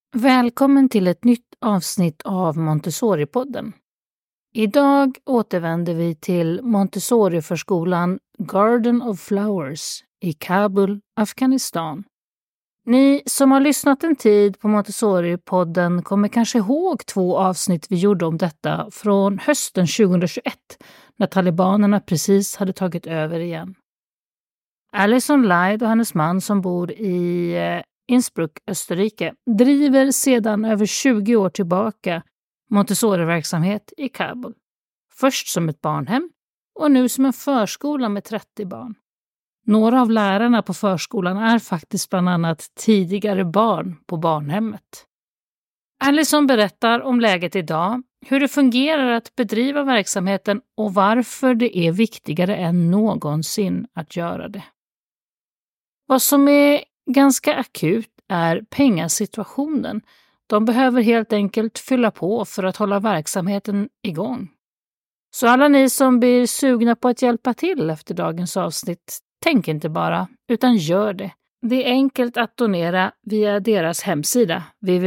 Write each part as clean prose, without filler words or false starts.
Välkommen till ett nytt avsnitt av Montessori-podden. Idag återvänder vi till Montessori-förskolan Garden of Flowers i Kabul, Afghanistan. Ni som har lyssnat en tid på Montessori-podden kommer kanske ihåg 2 avsnitt vi gjorde om detta från hösten 2021 när talibanerna precis hade tagit över igen. Alison Lyde och hennes man som bor i Innsbruck, Österrike, driver sedan över 20 år tillbaka Montessori-verksamhet i Kabul. Först som ett barnhem och nu som en förskola med 30 barn. Några av lärarna på förskolan är faktiskt bland annat tidigare barn på barnhemmet. Alison berättar om läget idag, hur det fungerar att bedriva verksamheten och varför det är viktigare än någonsin att göra det. Vad som är ganska akut är pengasituationen. De behöver helt enkelt fylla på för att hålla verksamheten igång. Så alla ni som blir sugna på att hjälpa till efter dagens avsnitt, tänk inte bara, utan gör det. Det är enkelt att donera via deras hemsida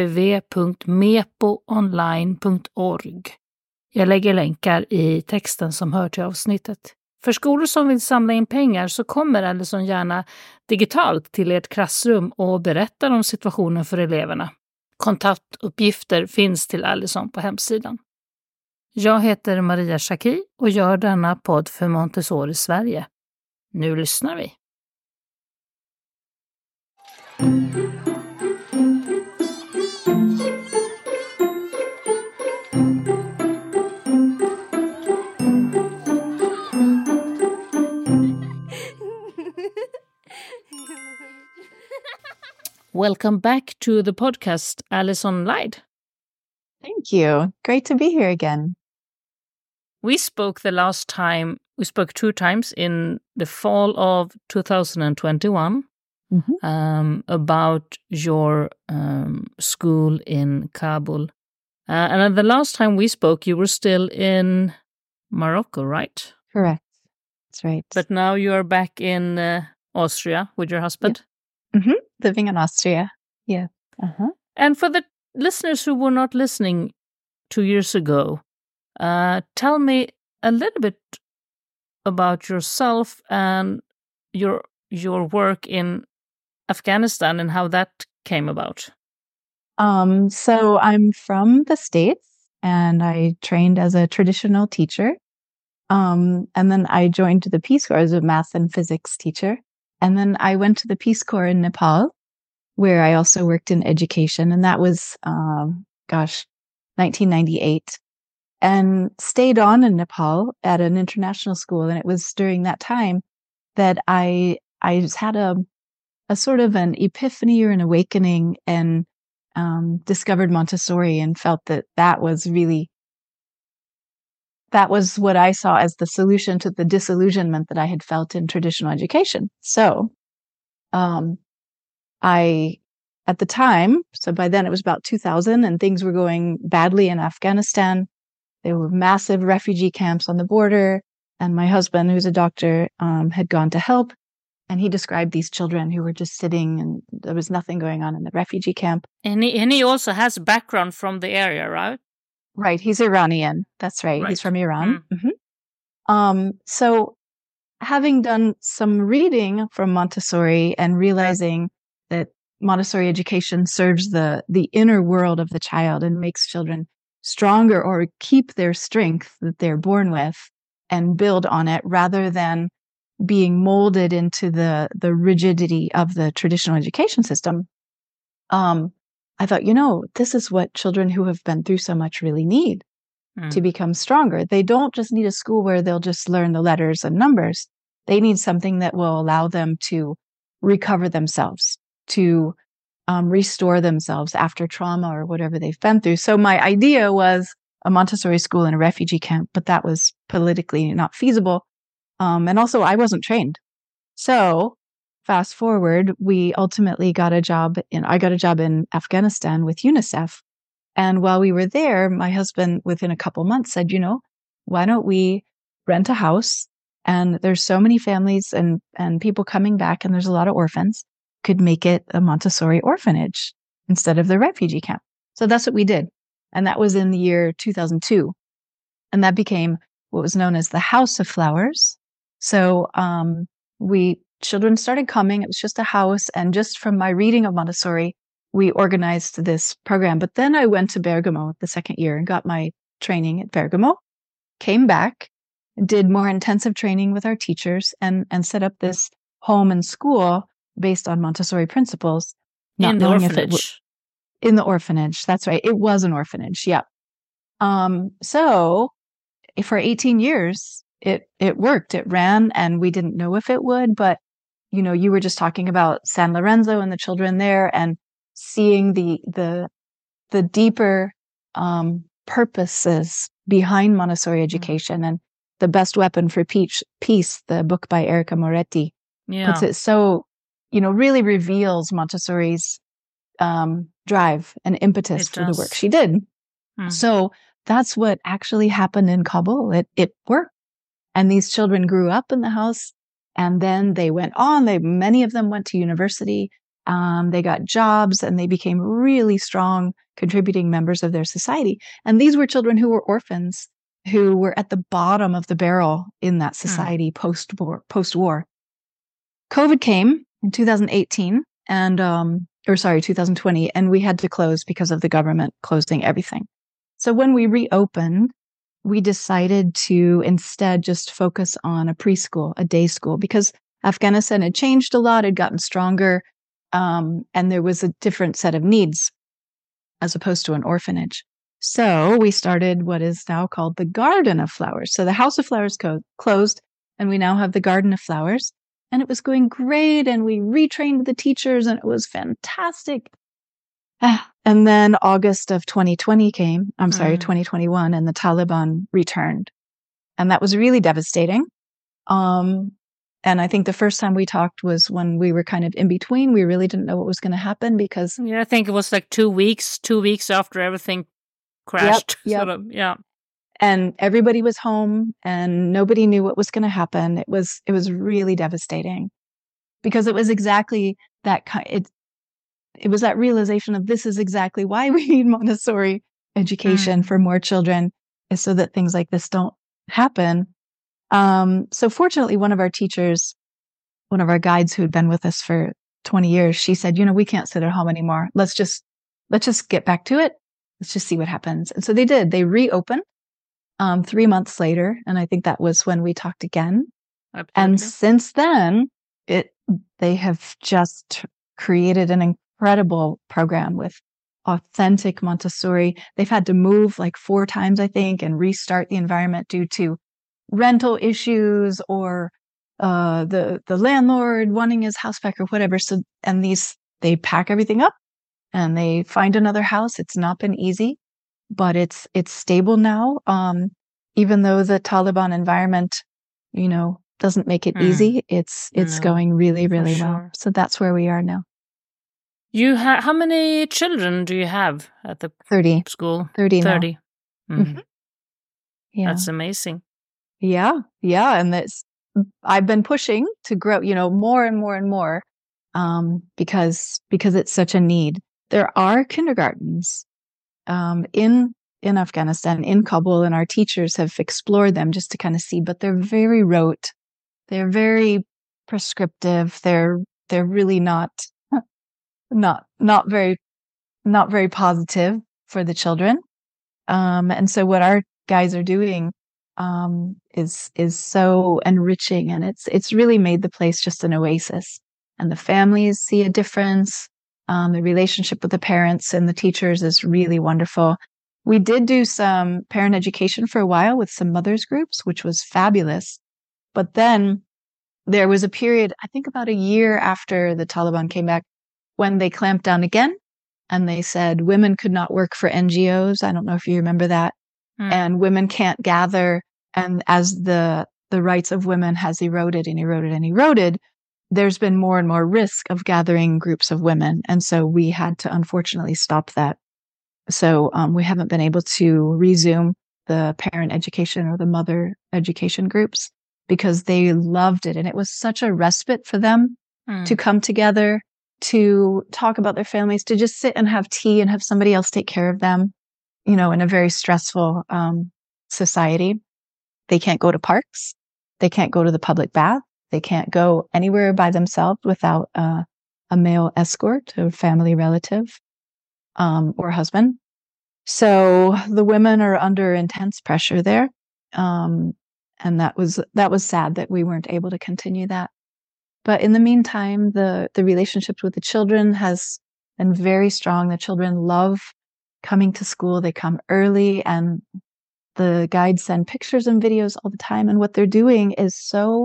www.mepoonline.org. Jag lägger länkar i texten som hör till avsnittet. För skolor som vill samla in pengar så kommer Alison gärna digitalt till ert klassrum och berättar om situationen för eleverna. Kontaktuppgifter finns till Alison på hemsidan. Jag heter Maria Schacki och gör denna podd för Montessori Sverige. Nu lyssnar vi. Welcome back to the podcast, Alison Lyde. Thank you. Great to be here again. We spoke 2 times in the fall of 2021 about your school in Kabul. And the last time we spoke, you were still in Morocco, right? Correct. That's right. But now you are back in Austria with your husband? Yeah. Mm-hmm. Living in Austria. Yeah. Uh-huh. And for the listeners who were not listening 2 years ago, tell me a little bit about yourself and your work in Afghanistan and how that came about. So I'm from the States and I trained as a traditional teacher. And then I joined the Peace Corps as a math and physics teacher. And then I went to the Peace Corps in Nepal, where I also worked in education. And that was, 1998. And stayed on in Nepal at an international school. And it was during that time that I just had a sort of an epiphany or an awakening and discovered Montessori and felt that was what I saw as the solution to the disillusionment that I had felt in traditional education. So, at the time, so by then it was about 2000 and things were going badly in Afghanistan. There were massive refugee camps on the border. And my husband, who's a doctor, had gone to help. And he described these children who were just sitting and there was nothing going on in the refugee camp. And he also has background from the area, right? Right. He's Iranian. That's right. He's from Iran. Mm-hmm. So having done some reading from Montessori and realizing that Montessori education serves the inner world of the child and makes children stronger or keep their strength that they're born with and build on it rather than being molded into the rigidity of the traditional education system. I thought, this is what children who have been through so much really need to become stronger. They don't just need a school where they'll just learn the letters and numbers. They need something that will allow them to recover themselves, to restore themselves after trauma or whatever they've been through. So my idea was a Montessori school in a refugee camp, but that was politically not feasible. And also I wasn't trained. So fast forward, we ultimately got a job I got a job in Afghanistan with UNICEF. And while we were there, my husband, within a couple months, said, why don't we rent a house? And there's so many families and people coming back, and there's a lot of orphans, could make it a Montessori orphanage. instead of the refugee camp. So that's what we did. And that was in the year 2002. And that became what was known as the House of Flowers. So children started coming. It was just a house. And just from my reading of Montessori, we organized this program. But then I went to Bergamo the second year and got my training at Bergamo, came back, did more intensive training with our teachers, and set up this home and school based on Montessori principles. In the orphanage. In the orphanage. That's right. It was an orphanage. Yeah. So for 18 years, it worked. It ran, and we didn't know if it would, but you were just talking about San Lorenzo and the children there, and seeing the deeper purposes behind Montessori education. And The Best Weapon for Peace, the book by Erica Moretti, puts it so, really reveals Montessori's drive and impetus for the work she did. So that's what actually happened in Kabul. It worked. And these children grew up in the house, and then they went on. Many of them went to university. They got jobs, and they became really strong, contributing members of their society. And these were children who were orphans, who were at the bottom of the barrel in that society post-war. COVID came in 2018 and 2020, and we had to close because of the government closing everything. So when we reopened, we decided to instead just focus on a preschool, a day school, because Afghanistan had changed a lot, had gotten stronger, and there was a different set of needs as opposed to an orphanage. So we started what is now called the Garden of Flowers. So the House of Flowers closed, and we now have the Garden of Flowers. And it was going great, and we retrained the teachers, and it was fantastic. And then August of 2021, and the Taliban returned. And that was really devastating. And I think the first time we talked was when we were kind of in between. We really didn't know what was going to happen because... Yeah, I think it was like 2 weeks after everything crashed. Yep. Yeah. And everybody was home, and nobody knew what was going to happen. It was really devastating because it was exactly that it was that realization of this is exactly why we need Montessori education for more children, is so that things like this don't happen. So fortunately, one of our teachers, one of our guides who had been with us for 20 years, she said, we can't sit at home anymore. Let's just get back to it. Let's just see what happens. And so they did. They reopened 3 months later. And I think that was when we talked again. Absolutely. And since then, they have just created an incredible program with authentic Montessori. They've had to move like 4 times, I think, and restart the environment due to rental issues or the landlord wanting his house back or whatever. So, and they pack everything up and they find another house. It's not been easy, but it's stable now. Even though the Taliban environment, doesn't make it easy, it's going really, really well. So that's where we are now. How many children do you have at the 30 school? 30 now. 30. Mm-hmm. Yeah. That's amazing. Yeah. And I've been pushing to grow, more and more and more, because it's such a need. There are kindergartens in Afghanistan, in Kabul, and our teachers have explored them just to kind of see, but they're very rote. They're very prescriptive. They're really not very positive for the children. And so what our guys are doing is so enriching, and it's really made the place just an oasis. And the families see a difference. The relationship with the parents and the teachers is really wonderful. We did do some parent education for a while with some mothers groups, which was fabulous. But then there was a period, I think about a year after the Taliban came back, when they clamped down again, and they said women could not work for NGOs. I don't know if you remember that. And women can't gather. And as the rights of women has eroded and eroded and eroded, there's been more and more risk of gathering groups of women. And so we had to unfortunately stop that. So we haven't been able to resume the parent education or the mother education groups because they loved it. And it was such a respite for them to come together, to talk about their families, to just sit and have tea and have somebody else take care of them, in a very stressful society. They can't go to parks. They can't go to the public bath. They can't go anywhere by themselves without a male escort or family relative or husband. So the women are under intense pressure there. And that was sad that we weren't able to continue that. But in the meantime, the relationships with the children has been very strong. The children love coming to school. They come early, and the guides send pictures and videos all the time. And what they're doing is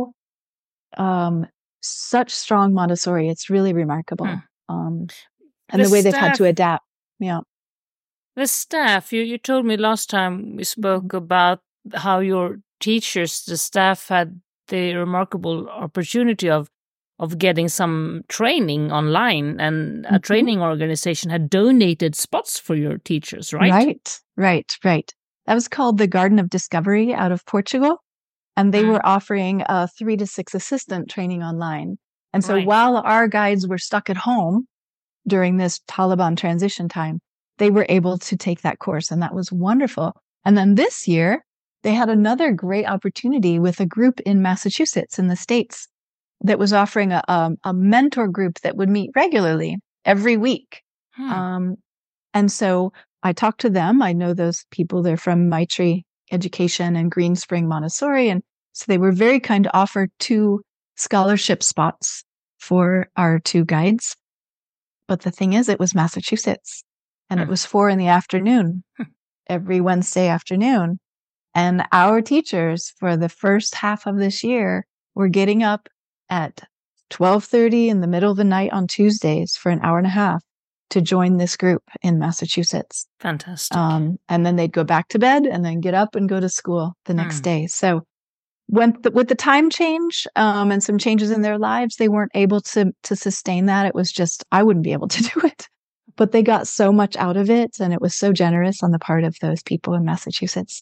such strong Montessori. It's really remarkable. And the way they've had to adapt. Yeah. The staff, you told me last time we spoke about how your teachers, the staff, had the remarkable opportunity of getting some training online, and a training organization had donated spots for your teachers, right? Right. That was called the Garden of Discovery out of Portugal. And they were offering 3 to 6 assistant training online. And so while our guides were stuck at home during this Taliban transition time, they were able to take that course. And that was wonderful. And then this year, they had another great opportunity with a group in Massachusetts in the States that was offering a mentor group that would meet regularly every week. And so I talked to them. I know those people. They're from Maitri Education and Green Spring Montessori. And so they were very kind to offer 2 scholarship spots for our 2 guides. But the thing is, it was Massachusetts, and it was 4 p.m. every Wednesday afternoon. And our teachers for the first half of this year were getting up at 12:30 in the middle of the night on Tuesdays for an hour and a half to join this group in Massachusetts. Fantastic. And then they'd go back to bed and then get up and go to school the next day. So with the time change and some changes in their lives, they weren't able to sustain that. It was just, I wouldn't be able to do it. But they got so much out of it, and it was so generous on the part of those people in Massachusetts.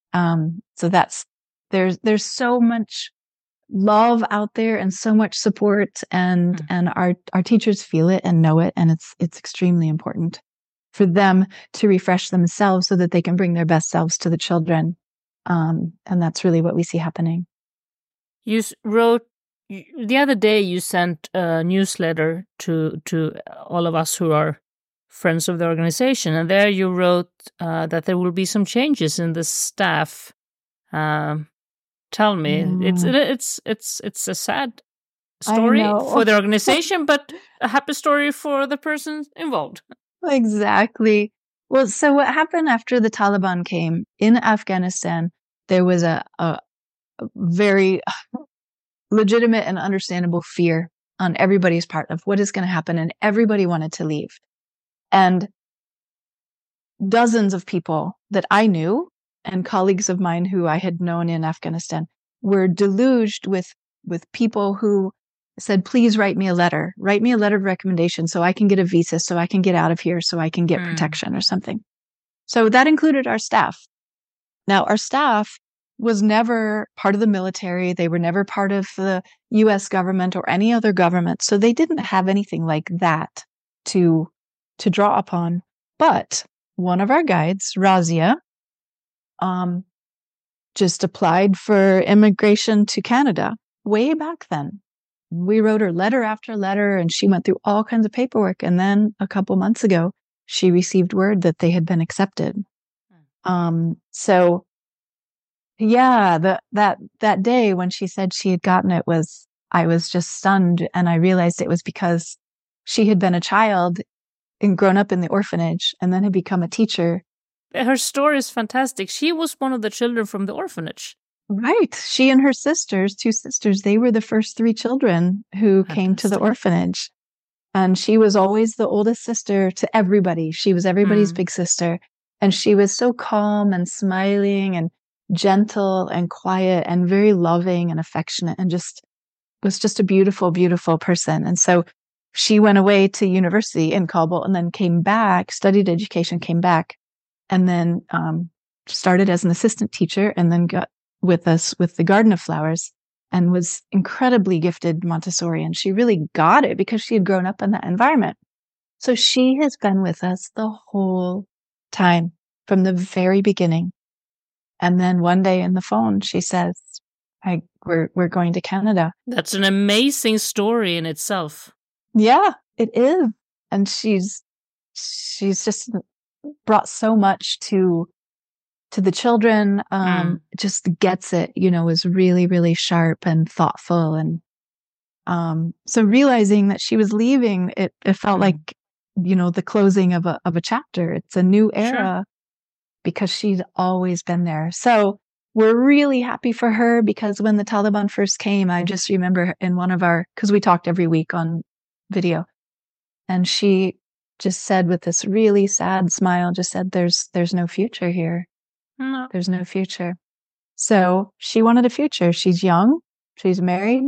So there's so much love out there and so much support, and our teachers feel it and know it, and it's extremely important for them to refresh themselves so that they can bring their best selves to the children, and that's really what we see happening. You wrote the other day, you sent a newsletter to all of us who are friends of the organization, and there you wrote that there will be some changes in the staff. Tell me, it's a sad story for the organization, but a happy story for the person involved. Exactly. Well, so what happened after the Taliban came in Afghanistan, there was a very legitimate and understandable fear on everybody's part of what is going to happen, and everybody wanted to leave. And dozens of people that I knew and colleagues of mine who I had known in Afghanistan were deluged with people who said, please write me a letter of recommendation so I can get a visa, so I can get out of here, so I can get protection or something. So that included our staff. Now, our staff was never part of the military. They were never part of the US government or any other government. So they didn't have anything like that to draw upon. But one of our guides, Razia, just applied for immigration to Canada way back then. We wrote her letter after letter, and she went through all kinds of paperwork. And then a couple months ago, she received word that they had been accepted. So yeah, that day when she said she had gotten it, I was just stunned, and I realized it was because she had been a child and grown up in the orphanage and then had become a teacher. Her story is fantastic. She was one of the children from the orphanage. Right. She and her sisters, 2 sisters, they were the first 3 children who came to the orphanage. And she was always the oldest sister to everybody. She was everybody's big sister. And she was so calm and smiling and gentle and quiet and very loving and affectionate, and was just a beautiful, beautiful person. And so she went away to university in Kabul and then came back, studied education, came back, and then started as an assistant teacher, and then got with us with the Garden of Flowers. and was incredibly gifted Montessori. And she really got it because she had grown up in that environment. So she has been with us the whole time from the very beginning. And then one day in the phone, she says, we're going to Canada. That's an amazing story in itself. Yeah, it is. And she's just brought so much to the children, just gets it, is really, really sharp and thoughtful. And so realizing that she was leaving, it felt like, the closing of a chapter. It's a new era because she's always been there. So we're really happy for her because when the Taliban first came, I just remember in one of because we talked every week on video, and she just said with this really sad smile, just said, there's no future here. No. There's no future. So she wanted a future. She's young. She's married.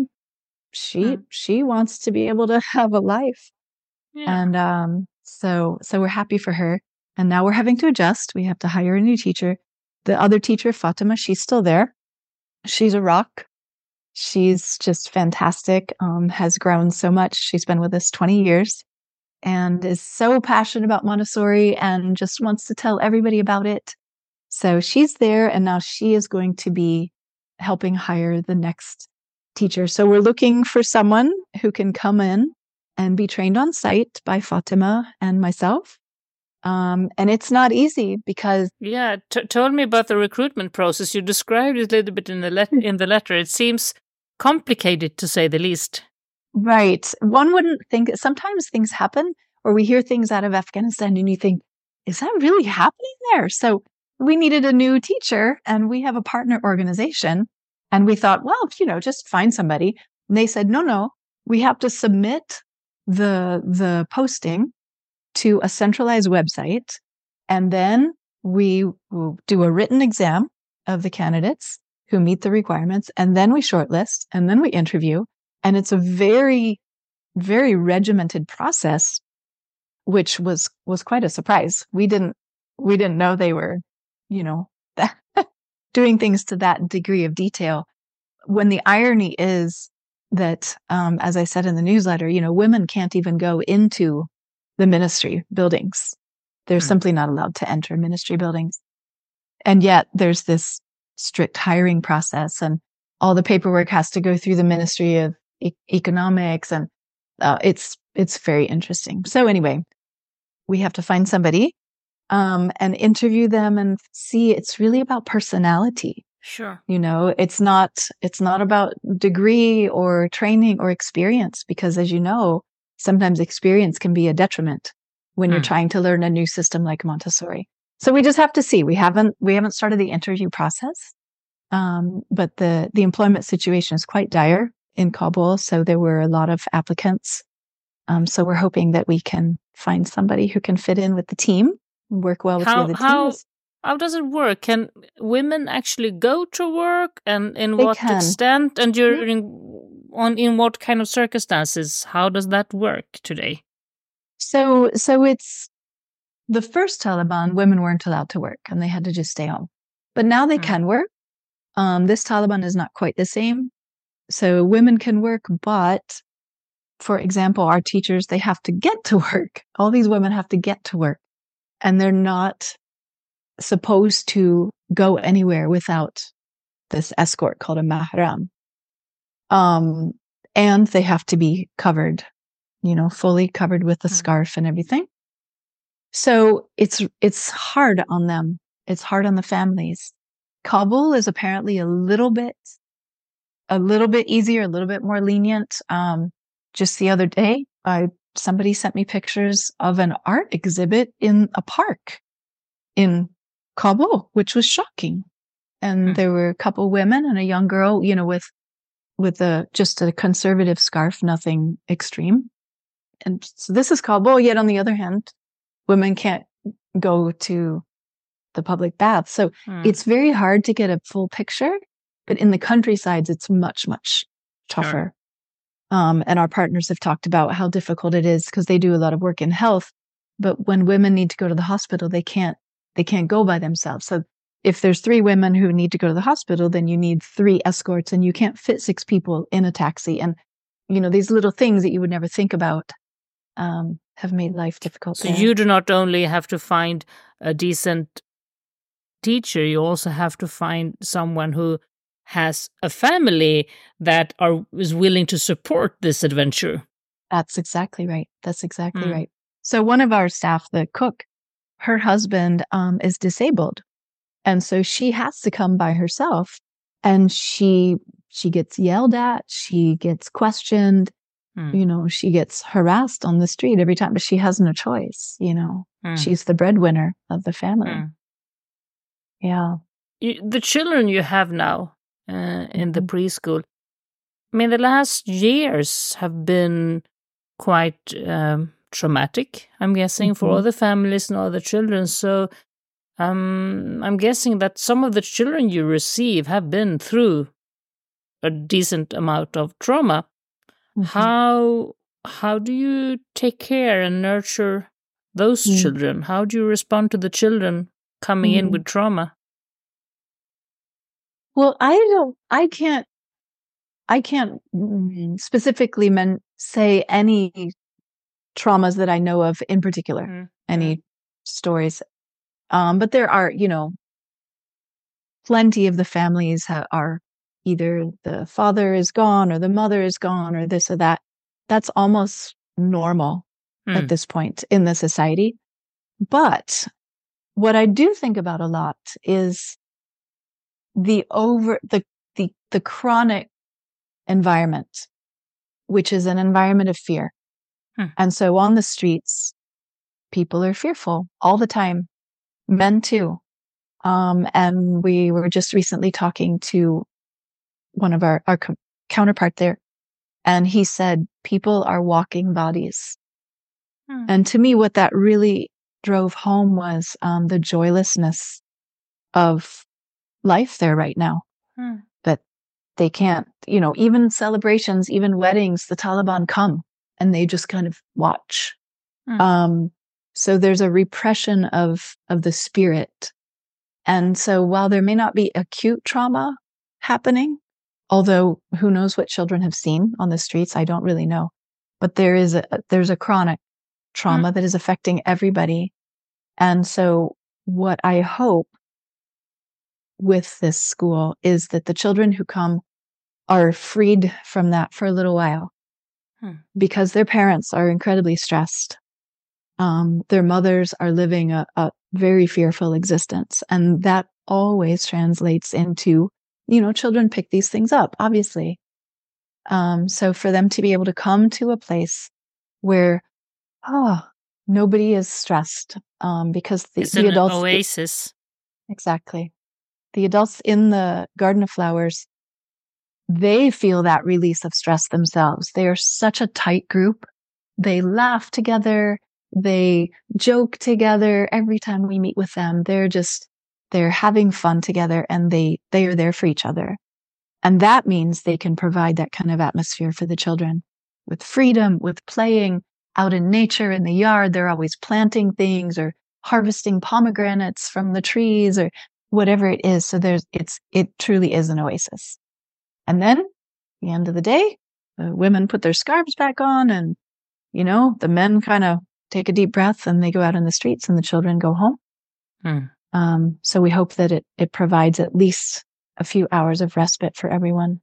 She wants to be able to have a life. Yeah. And so we're happy for her. And now we're having to adjust. We have to hire a new teacher. The other teacher, Fatima, she's still there. She's a rock. She's just fantastic. Has grown so much. She's been with us 20 years and is so passionate about Montessori and just wants to tell everybody about it. So she's there, and now she is going to be helping hire the next teacher. So we're looking for someone who can come in and be trained on site by Fatima and myself. And it's not easy because... Yeah, told me about the recruitment process. You described it a little bit in the letter. It seems complicated, to say the least. Right. One wouldn't think... Sometimes things happen, or we hear things out of Afghanistan, and you think, is that really happening there? So we needed a new teacher, and we have a partner organization. And we thought, well, just find somebody. And they said, no, we have to submit the posting to a centralized website. And then we will do a written exam of the candidates who meet the requirements. And then we shortlist, and then we interview. And it's a very, very regimented process, which was quite a surprise. We didn't know they were, doing things to that degree of detail. When the irony is that, as I said in the newsletter, women can't even go into the ministry buildings. They're simply not allowed to enter ministry buildings. And yet there's this strict hiring process, and all the paperwork has to go through the Ministry of Economics. And it's very interesting. So anyway, we have to find somebody and interview them and see. It's really about personality. Sure. It's not about degree or training or experience, because as you know, sometimes experience can be a detriment when you're trying to learn a new system like Montessori. So we just have to see. We haven't started the interview process, but the employment situation is quite dire in Kabul. So there were a lot of applicants. So we're hoping that we can find somebody who can fit in with the team, work well with the other teams. How does it work? Can women actually go to work, and in what extent, and in what kind of circumstances? How does that work today? So it's the first Taliban, women weren't allowed to work and they had to just stay home. But now they can work. This Taliban is not quite the same. So women can work, but for example, our teachers, they have to get to work. All these women have to get to work, and they're not supposed to go anywhere without this escort called a mahram. And they have to be covered, fully covered with a scarf and everything. So it's hard on them. It's hard on the families. Kabul is apparently a little bit easier, a little bit more lenient. Just the other day, somebody sent me pictures of an art exhibit in a park in Kabul, which was shocking. And there were a couple women and a young girl, with just a conservative scarf, nothing extreme. And so this is Kabul. Yet on the other hand, women can't go to the public bath. So it's very hard to get a full picture. But in the countrysides, it's much, much tougher. Sure. And our partners have talked about how difficult it is because they do a lot of work in health. But when women need to go to the hospital, they can't go by themselves. So if there's 3 women who need to go to the hospital, then you need 3 escorts, and you can't fit 6 people in a taxi. And, these little things that you would never think about have made life difficult. So you do not only have to find a decent teacher, you also have to find someone who has a family that is willing to support this adventure. That's exactly right. Right. So one of our staff, the cook, her husband is disabled. And so she has to come by herself, and she gets yelled at, she gets questioned, she gets harassed on the street every time, but she has no choice, She's the breadwinner of the family. Yeah. The children you have now in the preschool, I mean, the last years have been quite traumatic, I'm guessing, for all the families and all the children. So I'm guessing that some of the children you receive have been through a decent amount of trauma. How do you take care and nurture those children? How do you respond to the children coming in with trauma? Well, I can't specifically say any traumas that I know of in particular, any stories. But there are, plenty of the families are either the father is gone or the mother is gone or this or that. That's almost normal at this point in the society. But what I do think about a lot is the chronic environment, which is an environment of fear. And so on the streets, people are fearful all the time, men too. And we were just recently talking to one of our counterpart there, and he said people are walking bodies. And to me, what that really drove home was the joylessness of life there right now. That they can't, even celebrations, even weddings, the Taliban come and they just kind of watch. So there's a repression of the spirit. And so while there may not be acute trauma happening, although who knows what children have seen on the streets, I don't really know. But there's a chronic trauma that is affecting everybody. And so what I hope with this school is that the children who come are freed from that for a little while, because their parents are incredibly stressed. Their mothers are living a very fearful existence. And that always translates into, children pick these things up, obviously. So for them to be able to come to a place where, nobody is stressed, because the adults... An oasis. Exactly. The adults in the Garden of Flowers, they feel that release of stress themselves. They are such a tight group. They laugh together. They joke together. Every time we meet with them, they're having fun together, and they are there for each other. And that means they can provide that kind of atmosphere for the children with freedom, with playing out in nature, in the yard. They're always planting things or harvesting pomegranates from the trees or whatever it is. So it truly is an oasis. And then at the end of the day, the women put their scarves back on, and, the men kind of take a deep breath and they go out in the streets, and the children go home. So we hope that it provides at least a few hours of respite for everyone.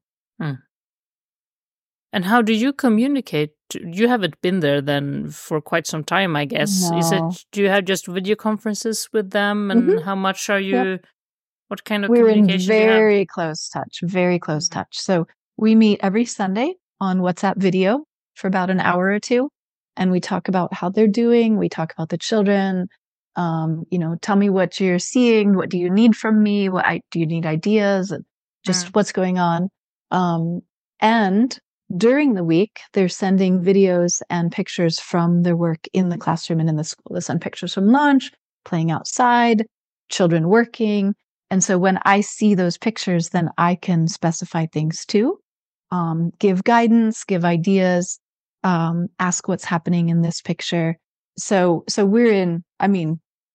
And how do you communicate? You haven't been there then for quite some time, I guess. No. Do you have just video conferences with them? And how much are you, what kind of We're communication in do you have? very close touch. So we meet every Sunday on WhatsApp video for about an hour or two. And we talk about how they're doing. We talk about the children. Tell me what you're seeing. What do you need from me? Do you need ideas? And just what's going on. And during the week, they're sending videos and pictures from their work in the classroom and in the school. They send pictures from lunch, playing outside, children working. And so when I see those pictures, then I can specify things too, give guidance, give ideas, ask what's happening in this picture. So we're in,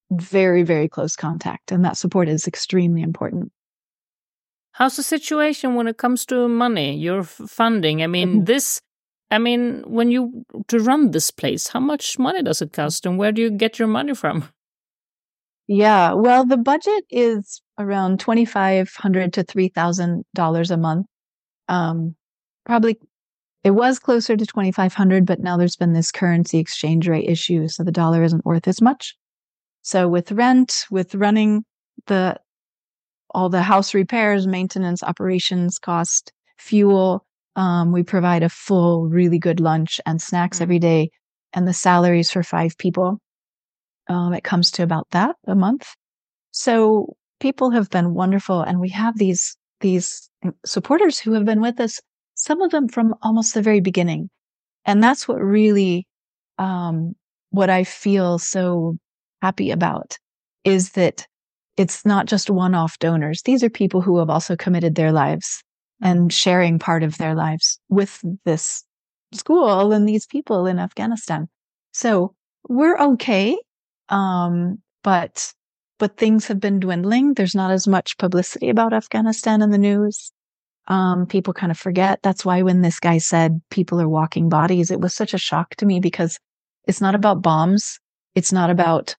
very, very close contact. And that support is extremely important. How's the situation when it comes to money, your funding? I mean, when to run this place, how much money does it cost and where do you get your money from? Yeah, well, the budget is around $2,500 to $3,000 a month. Probably it was closer to 2,500, but now there's been this currency exchange rate issue, so the dollar isn't worth as much. So with rent, with running all the house repairs, maintenance, operations cost, fuel, we provide a full, really good lunch and snacks every day, and the salaries for 5 people. It comes to about that a month. So people have been wonderful, and we have these supporters who have been with us, some of them from almost the very beginning. And that's what really, what I feel so happy about, is that it's not just one-off donors. These are people who have also committed their lives and sharing part of their lives with this school and these people in Afghanistan. So we're okay. But things have been dwindling. There's not as much publicity about Afghanistan in the news. People kind of forget. That's why when this guy said people are walking bodies, it was such a shock to me, because it's not about bombs. It's not about,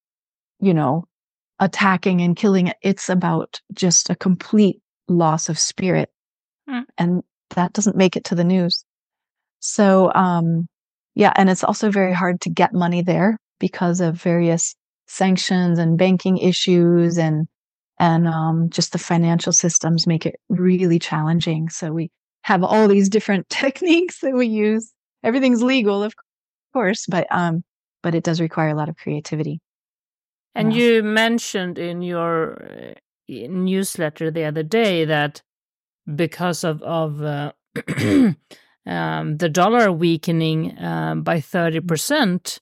attacking and killing. It's about just a complete loss of spirit. And that doesn't make it to the news. So, yeah. And it's also very hard to get money there because of various sanctions and banking issues, and just the financial systems make it really challenging. So we have all these different techniques that we use. Everything's legal, of course, but it does require a lot of creativity. And you mentioned in your newsletter the other day that because of the dollar weakening by 30%,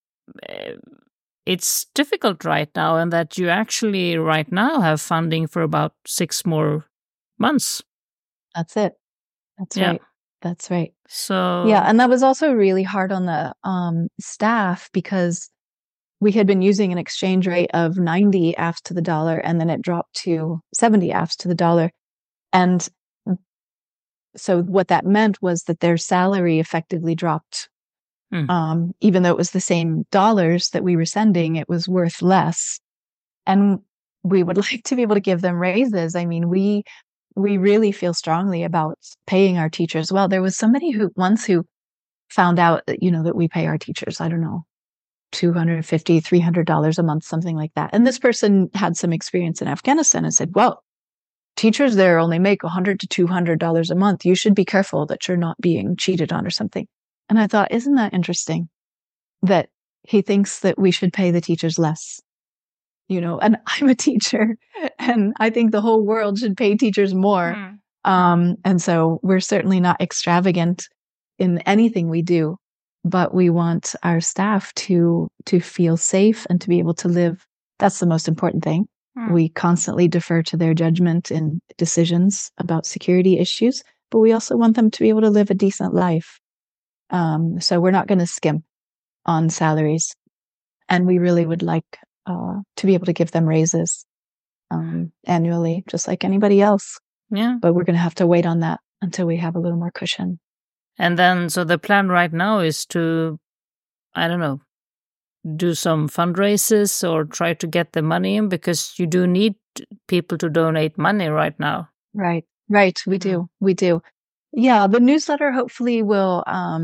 it's difficult right now, and that you actually right now have funding for about 6 more months. That's it. Right. That's right. So yeah, and that was also really hard on the staff, because we had been using an exchange rate of 90 AFs to the dollar, and then it dropped to 70 AFs to the dollar. And so what that meant was that their salary effectively dropped. Even though it was the same dollars that we were sending, it was worth less. And we would like to be able to give them raises. I mean, we really feel strongly about paying our teachers well. There was somebody who found out that, that we pay our teachers, I don't know, $250, $300 a month, something like that. And this person had some experience in Afghanistan and said, well, teachers there only make $100 to $200 a month. You should be careful that you're not being cheated on or something. And I thought, isn't that interesting that he thinks that we should pay the teachers less? And I'm a teacher, and I think the whole world should pay teachers more. And so we're certainly not extravagant in anything we do, but we want our staff to feel safe and to be able to live. That's the most important thing. We constantly defer to their judgment in decisions about security issues, but we also want them to be able to live a decent life. So we're not going to skimp on salaries, and we really would like to be able to give them raises annually, just like anybody else. Yeah. But we're going to have to wait on that until we have a little more cushion. And then, so the plan right now is to, I don't know, do some fundraisers or try to get the money in, because you do need people to donate money right now. Right. We do. Yeah, the newsletter hopefully will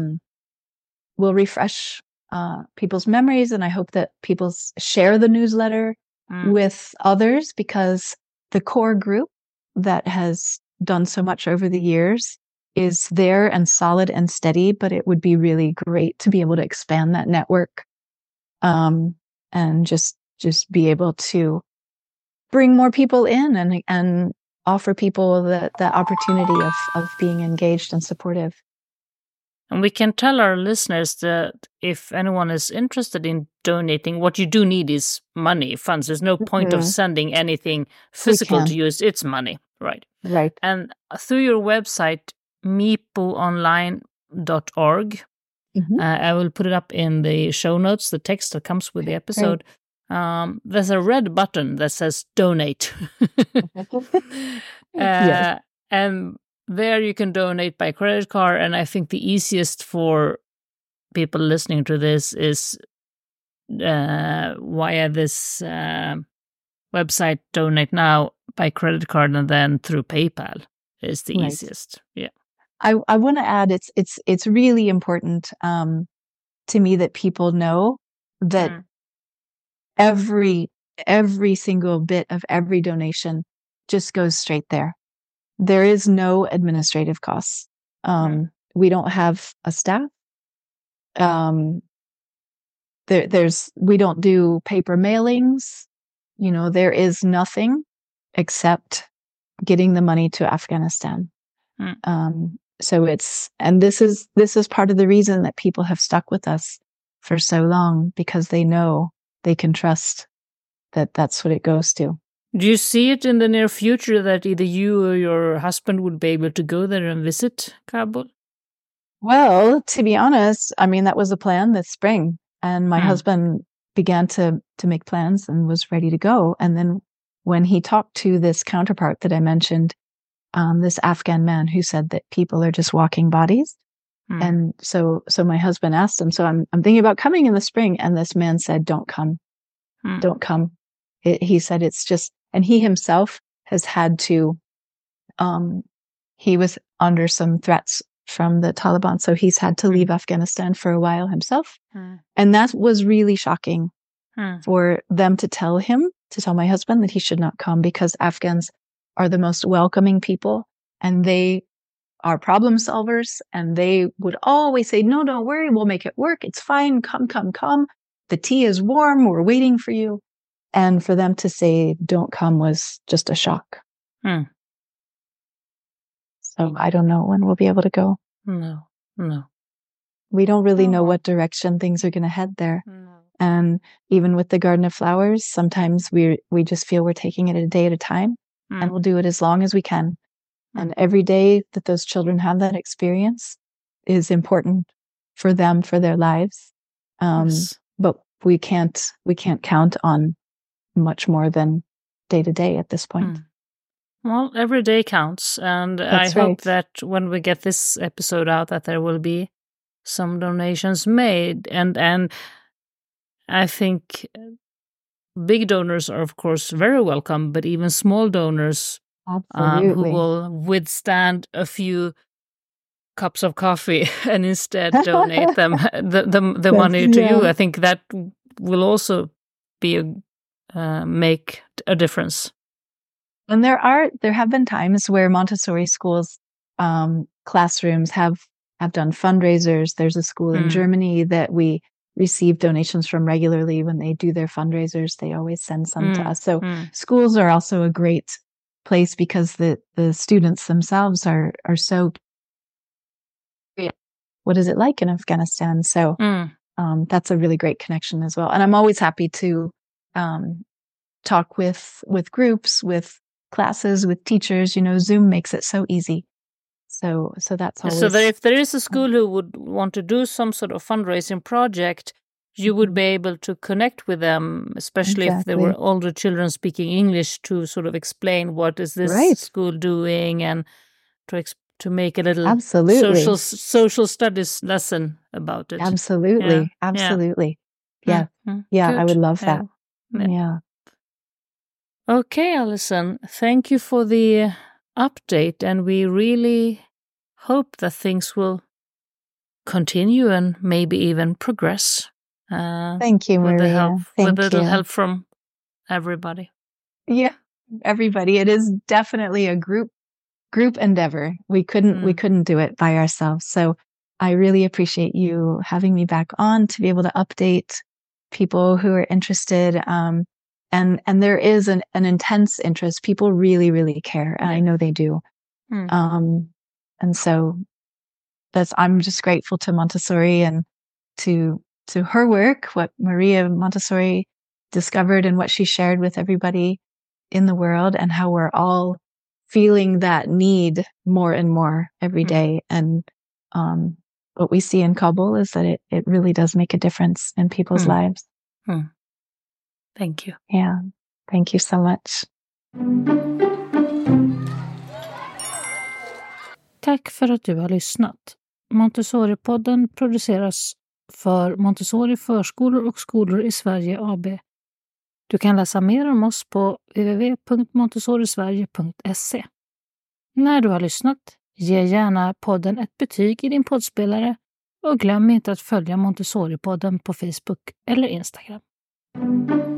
refresh people's memories, and I hope that people share the newsletter with others, because the core group that has done so much over the years is there and solid and steady, but it would be really great to be able to expand that network, and just be able to bring more people in and offer people the opportunity of being engaged and supportive. And we can tell our listeners that if anyone is interested in donating, what you do need is money, funds. There's no point of sending anything physical to use. It's money, right? Right. And through your website, mipoonline.org, I will put it up in the show notes, the text that comes with the episode. there's a red button that says donate. Yes. And there you can donate by credit card. And I think the easiest for people listening to this is via this website, Donate Now, by credit card, and then through PayPal is the easiest. Yeah. I want to add, it's really important to me that people know that every single bit of every donation just goes straight there. There is no administrative costs. We don't have a staff. We don't do paper mailings. There is nothing except getting the money to Afghanistan. So this is part of the reason that people have stuck with us for so long, because they know they can trust that that's what it goes to. Do you see it in the near future that either you or your husband would be able to go there and visit Kabul? Well, to be honest, I mean, that was a plan this spring, and my husband began to make plans and was ready to go. And then when he talked to this counterpart that I mentioned, this Afghan man who said that people are just walking bodies. And so my husband asked him, so I'm thinking about coming in the spring. And this man said, don't come. Don't come. He said, it's just, and he himself has had to, he was under some threats from the Taliban. So he's had to leave Afghanistan for a while himself. And that was really shocking for them to tell my husband that he should not come, because Afghans are the most welcoming people, and they are problem solvers, and they would always say, no, don't worry, we'll make it work. It's fine. Come. The tea is warm. We're waiting for you. And for them to say, don't come, was just a shock. So I don't know when we'll be able to go. No. We don't really know what direction things are going to head there. And even with the Garden of Flowers, sometimes we just feel we're taking it a day at a time, and we'll do it as long as we can. And every day that those children have that experience is important for them, for their lives. Yes. But we can't count on much more than day to day at this point. Well, every day counts, and That's I hope right. that when we get this episode out, that there will be some donations made, and I think big donors are, of course, very welcome, but even small donors who will withstand a few cups of coffee and instead donate them the money to you. I think that will also be make a difference. And there have been times where Montessori schools classrooms have done fundraisers. There's a school in Germany that we receive donations from regularly. When they do their fundraisers, they always send some to us. So schools are also a great place, because the students themselves are so, what is it like in Afghanistan? So that's a really great connection as well. And I'm always happy to talk with groups, with classes, with teachers. Zoom makes it so easy. So that's always... So that if there is a school who would want to do some sort of fundraising project, you would be able to connect with them, especially if there were older children speaking English, to sort of explain what is this school doing, and to make a little social studies lesson about it. Absolutely. Yeah. I would love that. Yeah. Okay, Alison, thank you for the update, and we really hope that things will continue and maybe even progress. Thank you, Maria. With a little help from everybody. Yeah, everybody. It is definitely a group endeavor. We couldn't do it by ourselves. So I really appreciate you having me back on to be able to update people who are interested. And there is an intense interest. People really, really care, and I know they do. And so I'm just grateful to Montessori and to her work, what Maria Montessori discovered and what she shared with everybody in the world, and how we're all feeling that need more and more every day. And what we see in Kabul is that it really does make a difference in people's lives. Thank you. Yeah, thank you so much. Tack för att du har lyssnat. Montessori-podden produceras för Montessori förskolor och skolor i Sverige AB. Du kan läsa mer om oss på www.montessorisverige.se. När du har lyssnat, ge gärna podden ett betyg i din poddspelare och glöm inte att följa Montessori-podden på Facebook eller Instagram.